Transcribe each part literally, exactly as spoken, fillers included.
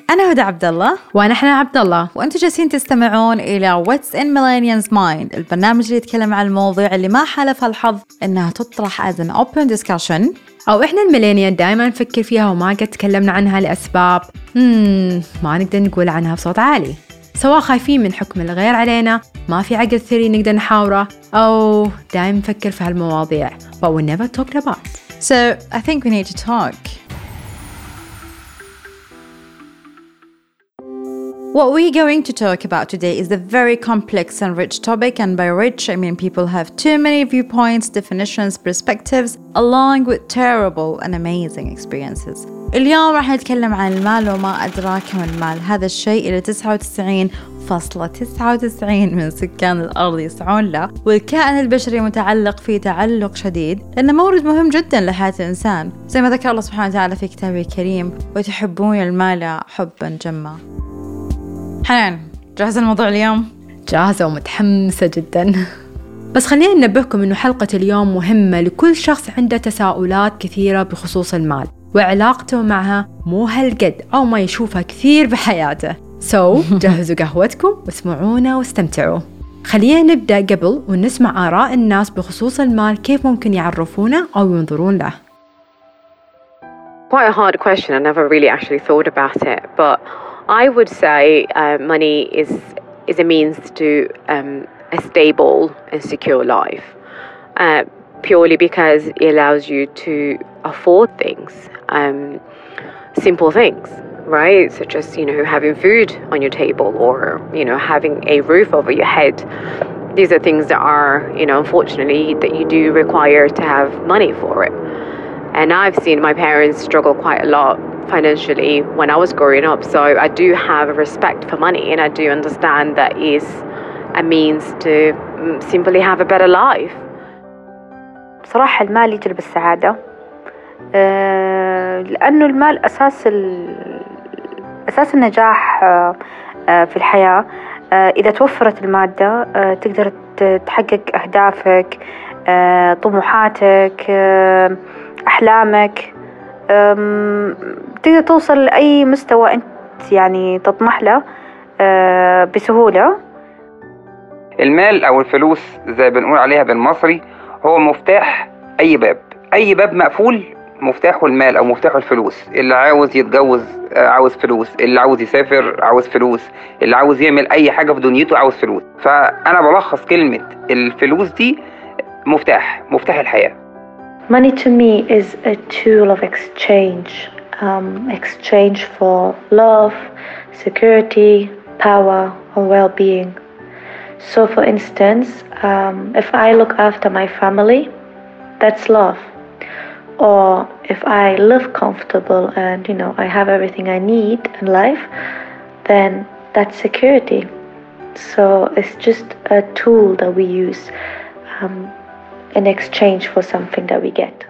أنا هدى عبد الله وأنا حنا عبد الله، وأنتم جالسين تستمعون إلى What's in Millennials Mind، البرنامج اللي يتكلم عن المواضيع اللي ما حالفها الحظ إنها تطرح as an open discussion، أو إحنا الميلينيال دائما نفكر فيها وما قد تكلمنا عنها لأسباب مم ما نقدر نقول عنها بصوت عالي، سواء خايفين من حكم الغير علينا، ما في عقل ثري نقدر نحاوره، أو دائما نفكر في هالمواضيع but we never talked about. So I think we need to talk. What we're going to talk about today is a very complex and rich topic, and by rich I mean people have too many viewpoints, definitions, perspectives, along with terrible and amazing experiences. اليوم راح نتكلم عن المال وما أدراك ما المال، هذا الشيء اللي تسعة وتسعين فاصلة تسعة وتسعين من سكان الأرض يسعون له، والكائن البشري متعلق فيه تعلق شديد لأنه مورد مهم جدا لحياة الإنسان، زي ما ذكر الله سبحانه وتعالى في كتابه الكريم: وتحبون المال حبا جما. حنان، جاهزة الموضوع اليوم؟ جاهزة ومتحمسة جدا. بس خلينا ننبهكم إنه حلقة اليوم مهمة لكل شخص عنده تساؤلات كثيرة بخصوص المال وعلاقته معها مو هالقد أو ما يشوفها كثير بحياته. سو so, جهزوا قهوتكم واسمعونا واستمتعوا. خلينا نبدأ قبل ونسمع آراء الناس بخصوص المال، كيف ممكن يعرفونه أو ينظرون له. Quite a hard question. I never really actually thought about it, but I would say uh, money is is a means to um, a stable and secure life, uh, purely because it allows you to afford things, um, simple things, right? Such as, you know, having food on your table, or, you know, having a roof over your head. These are things that are, you know, unfortunately, that you do require to have money for it. And I've seen my parents struggle quite a lot financially when I was growing up, so I do have a respect for money, and I do understand that is a means to simply have a better life. بصراحة المال يجلب السعادة، أه لأنه المال أساس أساس النجاح أه في الحياة. أه إذا توفرت المادة أه تقدر تحقق أهدافك، أه طموحاتك، أه أحلامك، تقدر توصل لأي مستوى أنت يعني تطمح له أه بسهولة. المال أو الفلوس زي بنقول عليها بالمصري هو مفتاح أي باب، أي باب مقفول مفتاحه المال أو مفتاحه الفلوس. اللي عاوز يتجوز عاوز فلوس، اللي عاوز يسافر عاوز فلوس، اللي عاوز يعمل أي حاجة في دنيته عاوز فلوس. فأنا بلخص كلمة الفلوس دي مفتاح مفتاح الحياة. Money to me is a tool of exchange, um, exchange for love, security, power, or well-being. So for instance, um, if I look after my family, that's love. Or if I live comfortable and, you know, I have everything I need in life, then that's security. So it's just a tool that we use um, in exchange for something that we get.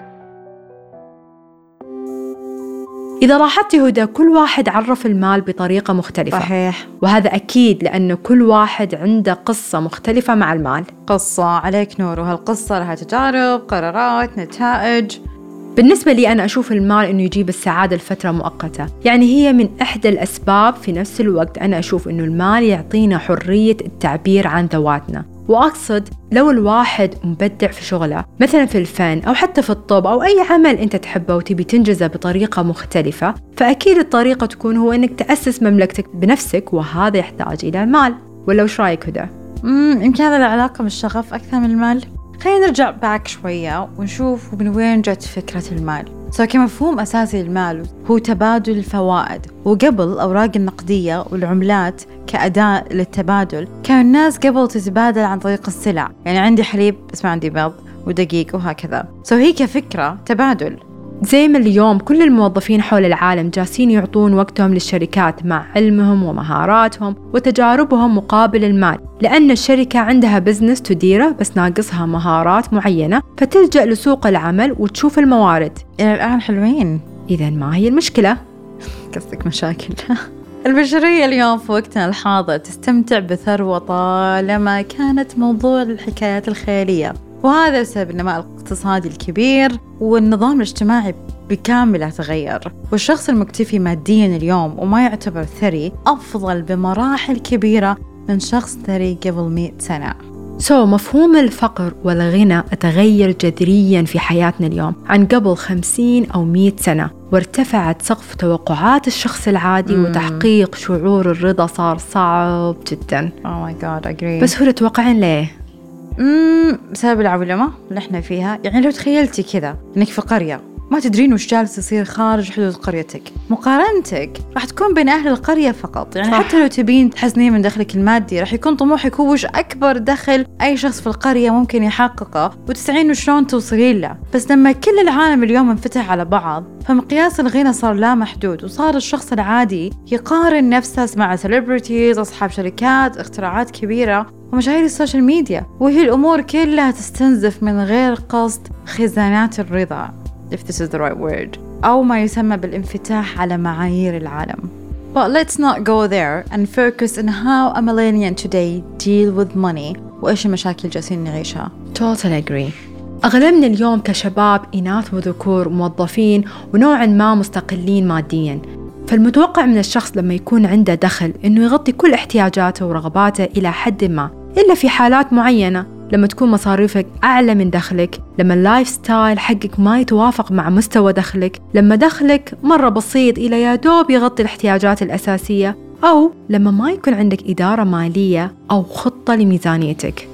إذا لاحظتي هدى، كل واحد عرف المال بطريقة مختلفة. صحيح. وهذا أكيد لأنه كل واحد عنده قصة مختلفة مع المال. قصة عليك نور، وهالقصة لها تجارب، قرارات، نتائج. بالنسبة لي أنا أشوف المال إنه يجيب السعادة لفترة مؤقتة، يعني هي من إحدى الأسباب. في نفس الوقت أنا أشوف إنه المال يعطينا حرية التعبير عن ذواتنا، وأقصد لو الواحد مبدع في شغله، مثلا في الفن أو حتى في الطب أو أي عمل أنت تحبه وتبي تنجزه بطريقة مختلفة، فأكيد الطريقة تكون هو إنك تأسس مملكتك بنفسك، وهذا يحتاج إلى المال. ولا وش رأيك هدى؟ امم يمكن هذا العلاقة بالشغف أكثر من المال. خلينا نرجع باك شوية ونشوف من وين جت فكرة المال. سو كمفهوم أساسي للمال هو تبادل الفوائد، وقبل الأوراق النقدية والعملات كأداة للتبادل كان الناس قبل تتبادل عن طريق السلع، يعني عندي حليب بس ما عندي بيض ودقيق وهكذا. سو هي كفكرة تبادل. زي ما اليوم كل الموظفين حول العالم جالسين يعطون وقتهم للشركات مع علمهم ومهاراتهم وتجاربهم مقابل المال، لأن الشركة عندها بزنس تديره بس ناقصها مهارات معينة، فتلجأ لسوق العمل وتشوف الموارد. إلى الآن حلوين. إذن ما هي المشكلة؟ قصدك مشاكل. البشرية اليوم في وقتنا الحاضر تستمتع بثروة طالما كانت موضوع الحكايات الخيالية، وهذا بسبب النماء الاقتصادي الكبير والنظام الاجتماعي بكامل تغير. والشخص المكتفي ماديا اليوم وما يعتبر ثري أفضل بمراحل كبيرة من شخص ثري قبل مئة سنة. سو so, مفهوم الفقر والغنى تغير جذرياً في حياتنا اليوم عن قبل خمسين أو مئة سنة، وارتفعت سقف توقعات الشخص العادي mm. وتحقيق شعور الرضا صار صعب جداً. Oh my God, agree. بس هو تتوقعين ليه؟ امم بسبب العولمة اللي احنا فيها. يعني لو تخيلتي كذا انك في قرية ما تدرين وش جالس يصير خارج حدود قريتك، مقارنتك راح تكون بين أهل القرية فقط. يعني صح. حتى لو تبين تحسنين من دخلك المادي راح يكون طموحك هو وش أكبر دخل أي شخص في القرية ممكن يحققه وتسعين وشلون توصلين له. بس لما كل العالم اليوم انفتح على بعض فمقياس الغنى صار لا محدود، وصار الشخص العادي يقارن نفسه مع سيلبرتيز، أصحاب شركات، اختراعات كبيرة ومشاهير السوشيال ميديا، وهي الأمور كلها تستنزف من غير قصد خزانات الرضا if this is the right word أو ما يسمى بالانفتاح على معايير العالم. But let's not go there and focus on how a millennial today deal with money وإيش المشاكل جالسين نعيشها. Totally agree. أغلبنا اليوم كشباب إناث وذكور موظفين ونوعا ما مستقلين ماديا، فالمتوقع من الشخص لما يكون عنده دخل إنه يغطي كل احتياجاته ورغباته إلى حد ما، إلا في حالات معينة لما تكون مصاريفك أعلى من دخلك، لما اللايف ستايل حقك ما يتوافق مع مستوى دخلك، لما دخلك مرة بسيط إلى يا دوب يغطي الاحتياجات الأساسية، أو لما ما يكون عندك إدارة مالية أو خطة لميزانيتك.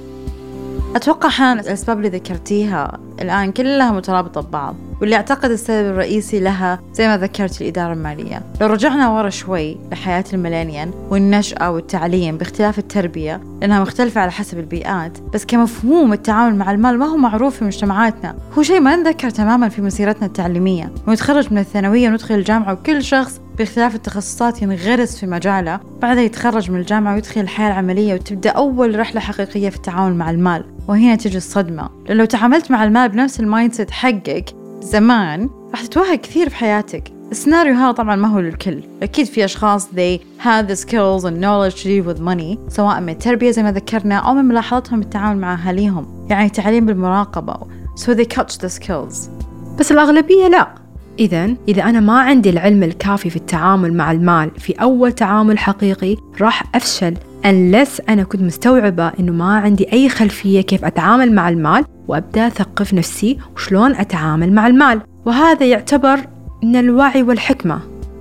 أتوقع حان الأسباب اللي ذكرتيها الآن كلها مترابطة ببعض، واللي أعتقد السبب الرئيسي لها زي ما ذكرت الإدارة المالية. لو رجعنا ورا شوي لحياة الميلينيال والنشأة والتعليم باختلاف التربية لأنها مختلفة على حسب البيئات، بس كمفهوم التعامل مع المال ما هو معروف في مجتمعاتنا، هو شيء ما نذكر تماما في مسيرتنا التعليمية. ونتخرج من الثانوية وندخل الجامعة وكل شخص باختلاف التخصصات ينغرس في مجاله، بعدها يتخرج من الجامعة ويدخل الحياة العملية وتبدأ أول رحلة حقيقية في التعامل مع المال. وهنا تجي الصدمة، لأن لو تعاملت مع المال بنفس المايندسيت حقك زمان راح تتوهق كثير في حياتك. السيناريو هذا طبعا ما هو للكل، أكيد في أشخاص they have the skills and knowledge to deal with money، سواء من التربية زي ما ذكرنا أو من ملاحظتهم التعامل مع أهاليهم، يعني تعليم بالمراقبة so they catch the skills. بس الأغلبية لا. إذن إذا أنا ما عندي العلم الكافي في التعامل مع المال في أول تعامل حقيقي راح أفشل unless أنا كنت مستوعبة إنه ما عندي أي خلفية كيف أتعامل مع المال، وأبدأ أثقف نفسي وشلون أتعامل مع المال، وهذا يعتبر من الوعي والحكمة.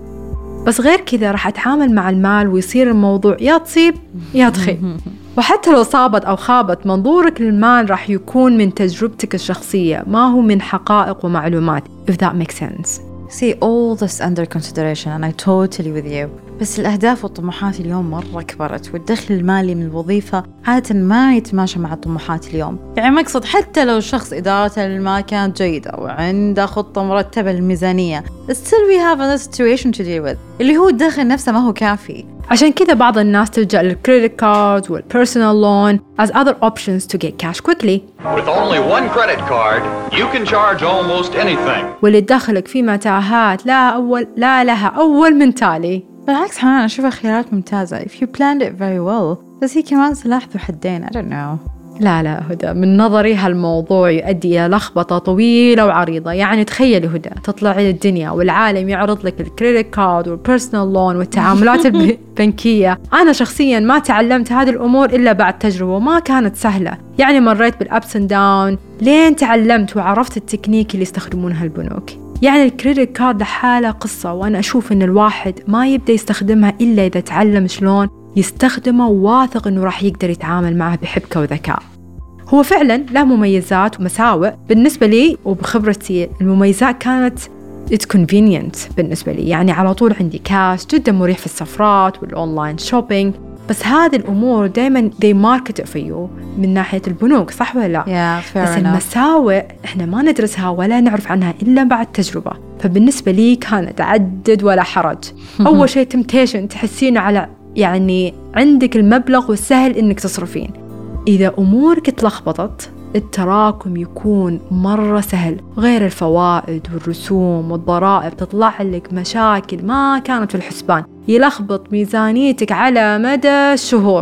بس غير كذا راح أتعامل مع المال ويصير الموضوع يا تصيب يا تخيب. وحتى لو صابت أو خابت منظورك للمال راح يكون من تجربتك الشخصية ما هو من حقائق ومعلومات if that makes sense. See all this under consideration and I totally with you. بس الأهداف والطموحات اليوم مرة كبرت، والدخل المالي من الوظيفة عادة ما يتماشى مع الطموحات اليوم. يعني مقصد حتى لو الشخص إدارته للمال كانت جيدة وعنده خطة مرتبة للميزانية still we have a situation to deal with اللي هو الدخل نفسه ما هو كافي. عشان كذا بعض الناس تلجأ للكريدت كارد والبيرسونال لون as other options to get cash quickly. With only one credit card, you can charge almost anything. واللي تدخلك في متاهات لا أول لا لها أول من تالي. بالعكس حنان أشوفها خيارات ممتازة if you planned it very well، بس هي كمان سلاح ذو حدين. I don't know. لا لا هدى، من نظري هالموضوع يؤدي إلى لخبطة طويلة وعريضة. يعني تخيلي هدى تطلعي للدنيا والعالم يعرض لك الكريدت كارد والبيرسونال لون والتعاملات البنكية. أنا شخصيا ما تعلمت هذه الأمور إلا بعد تجربة وما كانت سهلة، يعني مريت بالأبس اند داون لين تعلمت وعرفت التكنيك اللي يستخدمونها البنوك. يعني الكريدت كارد لحالة قصة، وأنا أشوف إن الواحد ما يبدأ يستخدمها إلا إذا تعلم شلون يستخدمه وواثق إنه راح يقدر يتعامل معه بحبكة وذكاء. هو فعلا له مميزات ومساوئ. بالنسبة لي وبخبرتي المميزات كانت it's convenient بالنسبة لي، يعني على طول عندي كاش، جدا مريح في السفرات والأونلاين شوبينج. بس هذه الأمور دايما they market it for you من ناحية البنوك، صح ولا لا؟ yeah, بس المساوئ إحنا ما ندرسها ولا نعرف عنها إلا بعد تجربة. فبالنسبة لي كانت عدد ولا حرج. أول شيء temptation، تحسين على يعني عندك المبلغ والسهل إنك تصرفين. إذا أمورك تلخبطت التراكم يكون مرة سهل، غير الفوائد والرسوم والضرائب تطلع لك مشاكل ما كانت في الحسبان، يلخبط ميزانيتك على مدى الشهور.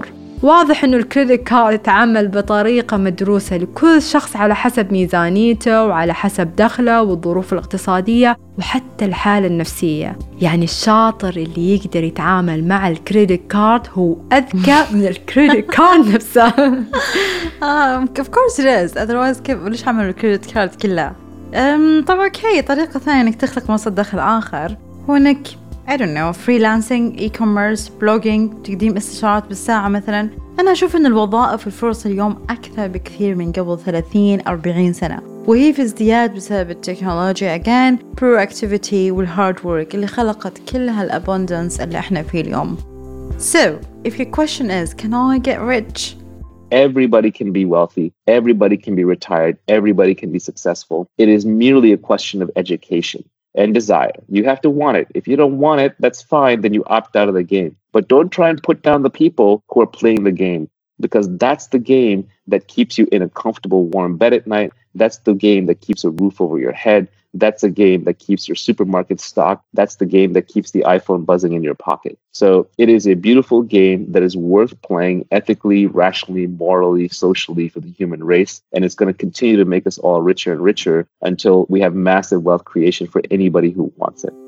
واضح إنه الكريدت كارد يتعامل بطريقة مدروسة لكل شخص على حسب ميزانيته وعلى حسب دخله والظروف الاقتصادية وحتى الحالة النفسية. يعني الشاطر اللي يقدر يتعامل مع الكريدت كارد هو أذكى من الكريدت كارد نفسها. آه of course it is. otherwise كيف ليش عملوا الكريدت كارد كلها؟ أم طبعا أوكي. طريقة ثانية إنك تخلق مصدر دخل آخر هو إنك I don't know freelancing, e-commerce, blogging, تقديم استشارات بالساعة مثلا. أنا أشوف إن الوظائف والفرص اليوم أكثر بكثير من قبل ثلاثين أربعين سنة، وهي في ازدياد بسبب التكنولوجيا again, proactivity والhard work اللي خلقت كل هالabundance اللي إحنا فيه اليوم. So, if your question is, can I get rich? Everybody can be wealthy. Everybody can be retired. Everybody can be successful. It is merely a question of education and desire. You have to want it. If you don't want it, that's fine. Then you opt out of the game. But don't try and put down the people who are playing the game, because that's the game that keeps you in a comfortable, warm bed at night. That's the game that keeps a roof over your head. That's the game that keeps your supermarket stocked. That's the game that keeps the iPhone buzzing in your pocket. So it is a beautiful game that is worth playing ethically, rationally, morally, socially for the human race. And it's going to continue to make us all richer and richer until we have massive wealth creation for anybody who wants it.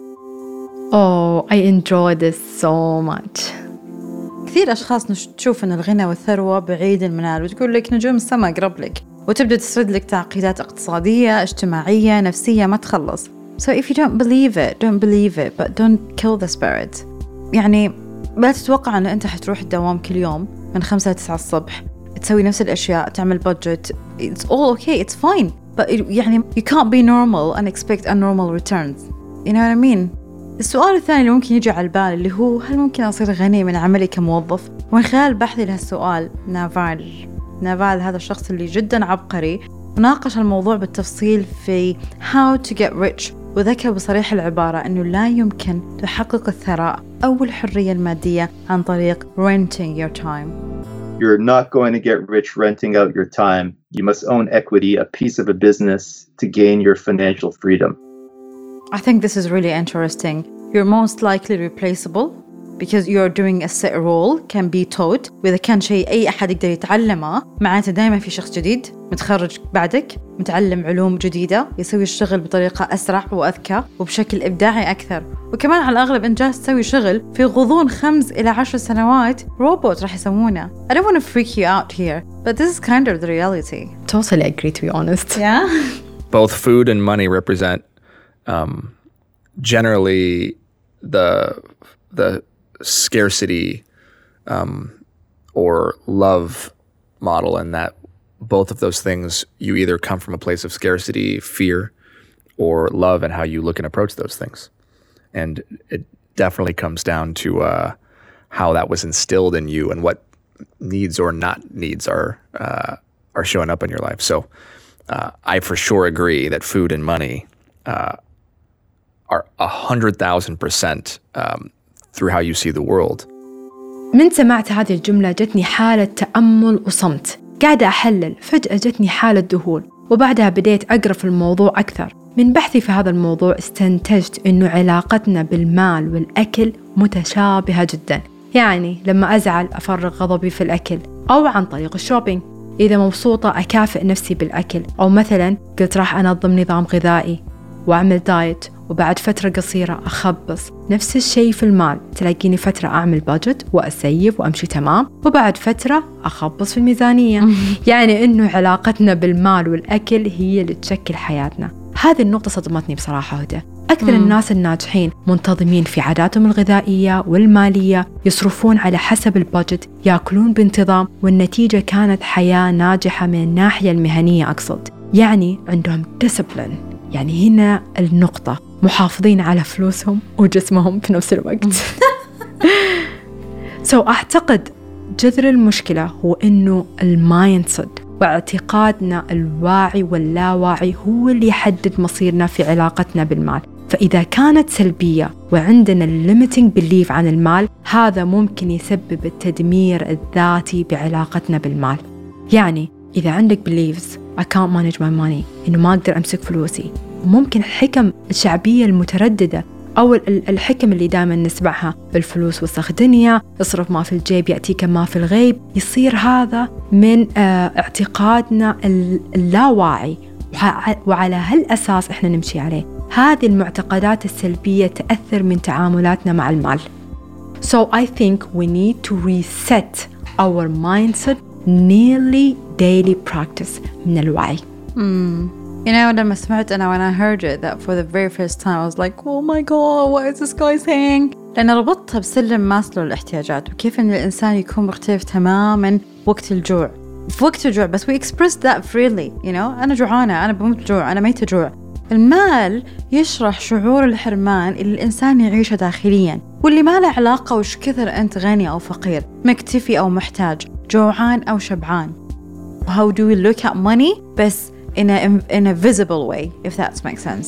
Oh, I enjoy this so much. كثير أشخاص نش- تشوف أن الغنى والثروة بعيد المنال وتقول لك نجوم السماء قرب لك، وتبدأ تسرد لك تعقيدات اقتصادية اجتماعية نفسية ما تخلص. So if you don't believe it, don't believe it, but don't kill the spirit. يعني لا تتوقع أن أنت حتروح الدوام كل يوم من خمسة لتسعة الصبح تسوي نفس الأشياء تعمل budget. It's all okay, it's fine. But it, يعني you can't be normal and expect abnormal returns. You know what I mean? السؤال الثاني اللي ممكن يجي على البال اللي هو هل ممكن أصير غني من عملي كموظف؟ ومن خلال بحثي لهالسؤال نافال نافال هذا الشخص اللي جدا عبقري وناقش الموضوع بالتفصيل في How to get rich، وذكر بصريح العبارة أنه لا يمكن تحقق الثراء أو الحرية المادية عن طريق renting your time. You're not going to get rich renting out your time. You must own equity, a piece of a business, to gain your financial freedom. I think this is really interesting. You're most likely replaceable because you're doing a set role can be taught. وإذا كان شيء أي أحد يقدر يتعلمه معناته دائما في شخص جديد متخرج بعدك متعلم علوم جديدة يسوي الشغل بطريقة أسرع وأذكى وبشكل إبداعي أكثر. وكمان على الأغلب إن جالس تسوي شغل في غضون خمس إلى عشر سنوات روبوت راح يسوونه. I don't want to freak you out here, but this is kind of the reality. Totally agree, to be honest. Yeah. Both food and money represent um, generally the the scarcity um, or love model, and that both of those things, you either come from a place of scarcity, fear, or love, and how you look and approach those things. And it definitely comes down to uh, how that was instilled in you and what needs or not needs are uh, are showing up in your life. So uh, I for sure agree that food and money uh, are a hundred thousand percent through how you see the world. من سمعت هذه الجملة جتني حالة تأمل وصمت، قاعدة أحلل، فجأة جتني حالة ذهول، وبعدها بديت أقرأ في الموضوع أكثر. من بحثي في هذا الموضوع استنتجت إنه علاقتنا بالمال والأكل متشابهة جدا. يعني لما أزعل أفرغ غضبي في الأكل أو عن طريق الشوبينج. إذا مبسوطة أكافئ نفسي بالأكل، أو مثلا قلت راح أنظم نظام غذائي وأعمل دايت وبعد فترة قصيرة أخبص. نفس الشيء في المال، تلاقيني فترة أعمل بادجت وأسيف وأمشي تمام، وبعد فترة أخبص في الميزانية. يعني إنه علاقتنا بالمال والأكل هي اللي تشكل حياتنا. هذه النقطة صدمتني بصراحة هدى. أكثر الناس الناجحين منتظمين في عاداتهم الغذائية والمالية، يصرفون على حسب البادجت، يأكلون بانتظام، والنتيجة كانت حياة ناجحة من الناحية المهنية أقصد. يعني عندهم discipline. يعني هنا النقطة، محافظين على فلوسهم وجسمهم في نفس الوقت. سو so, أعتقد جذر المشكلة هو إنه المايندسيت واعتقادنا الواعي واللاواعي هو اللي يحدد مصيرنا في علاقتنا بالمال. فإذا كانت سلبية وعندنا limiting belief عن المال، هذا ممكن يسبب التدمير الذاتي بعلاقتنا بالمال. يعني إذا عندك beliefs I can't manage my money، إنه ما أقدر أمسك فلوسي، ممكن الحكم الشعبية المترددة أو الحكم اللي دائما نسمعها بالفلوس وسخ دنيا، اصرف ما في الجيب يأتيك ما في الغيب. يصير هذا من اعتقادنا اللاواعي، وعلى هالأساس إحنا نمشي عليه. هذه المعتقدات السلبية تأثر من تعاملاتنا مع المال. So I think we need to reset our mindset nearly daily practice من الوعي. Mm. You know, لما سمعت أنا when I heard it that for the very first time I was like, oh my god, what is this guy saying? لأن ربطتها بسلم ماسلو الاحتياجات، وكيف إن الإنسان يكون مختلف تماماً وقت الجوع. في وقت الجوع بس we express that freely, you know. أنا جوعانة، أنا بموت جوع، أنا ميت جوع. المال يشرح شعور الحرمان اللي الإنسان يعيشه داخلياً، واللي ما له علاقة وش كثر أنت غني أو فقير، مكتفي أو محتاج، جوعان أو شبعان. How do we look at money بس in a in a visible way, if that makes sense.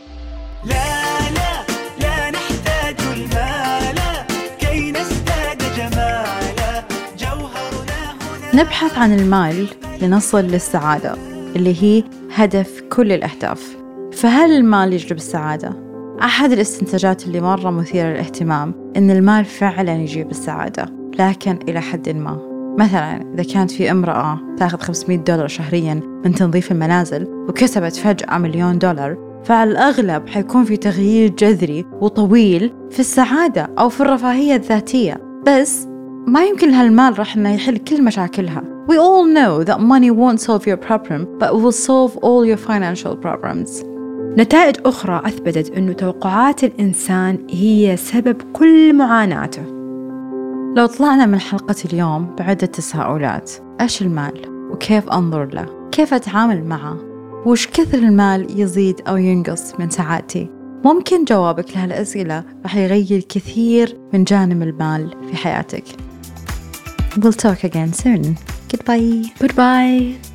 لا لا لا نحتاج المال كي نزداد جمالا، جوهرنا هنا. نبحث عن المال لنصل للسعادة اللي هي هدف كل الأهداف. فهل المال يجلب السعادة؟ أحد الاستنتاجات اللي مرة مثيرة للاهتمام إن المال فعلا يجيب السعادة، لكن إلى حد ما. مثلا إذا كانت في امرأة تأخذ خمسمائة دولار شهريا من تنظيف المنازل وكسبت فجأة مليون دولار، فعلى الأغلب حيكون في تغيير جذري وطويل في السعادة أو في الرفاهية الذاتية. بس ما يمكن هالمال راح إنه يحل كل مشاكلها. We all know that money won't solve your problem, but it will solve all your financial problems. نتائج أخرى أثبتت أنه توقعات الإنسان هي سبب كل معاناته. لو طلعنا من حلقة اليوم بعدة تساؤلات: إيش المال؟ وكيف أنظر له؟ كيف أتعامل معه؟ وش كثر المال يزيد أو ينقص من سعادتي؟ ممكن جوابك لهالأسئلة رح يغير كثير من جانب المال في حياتك. We'll talk again soon. Goodbye. Goodbye.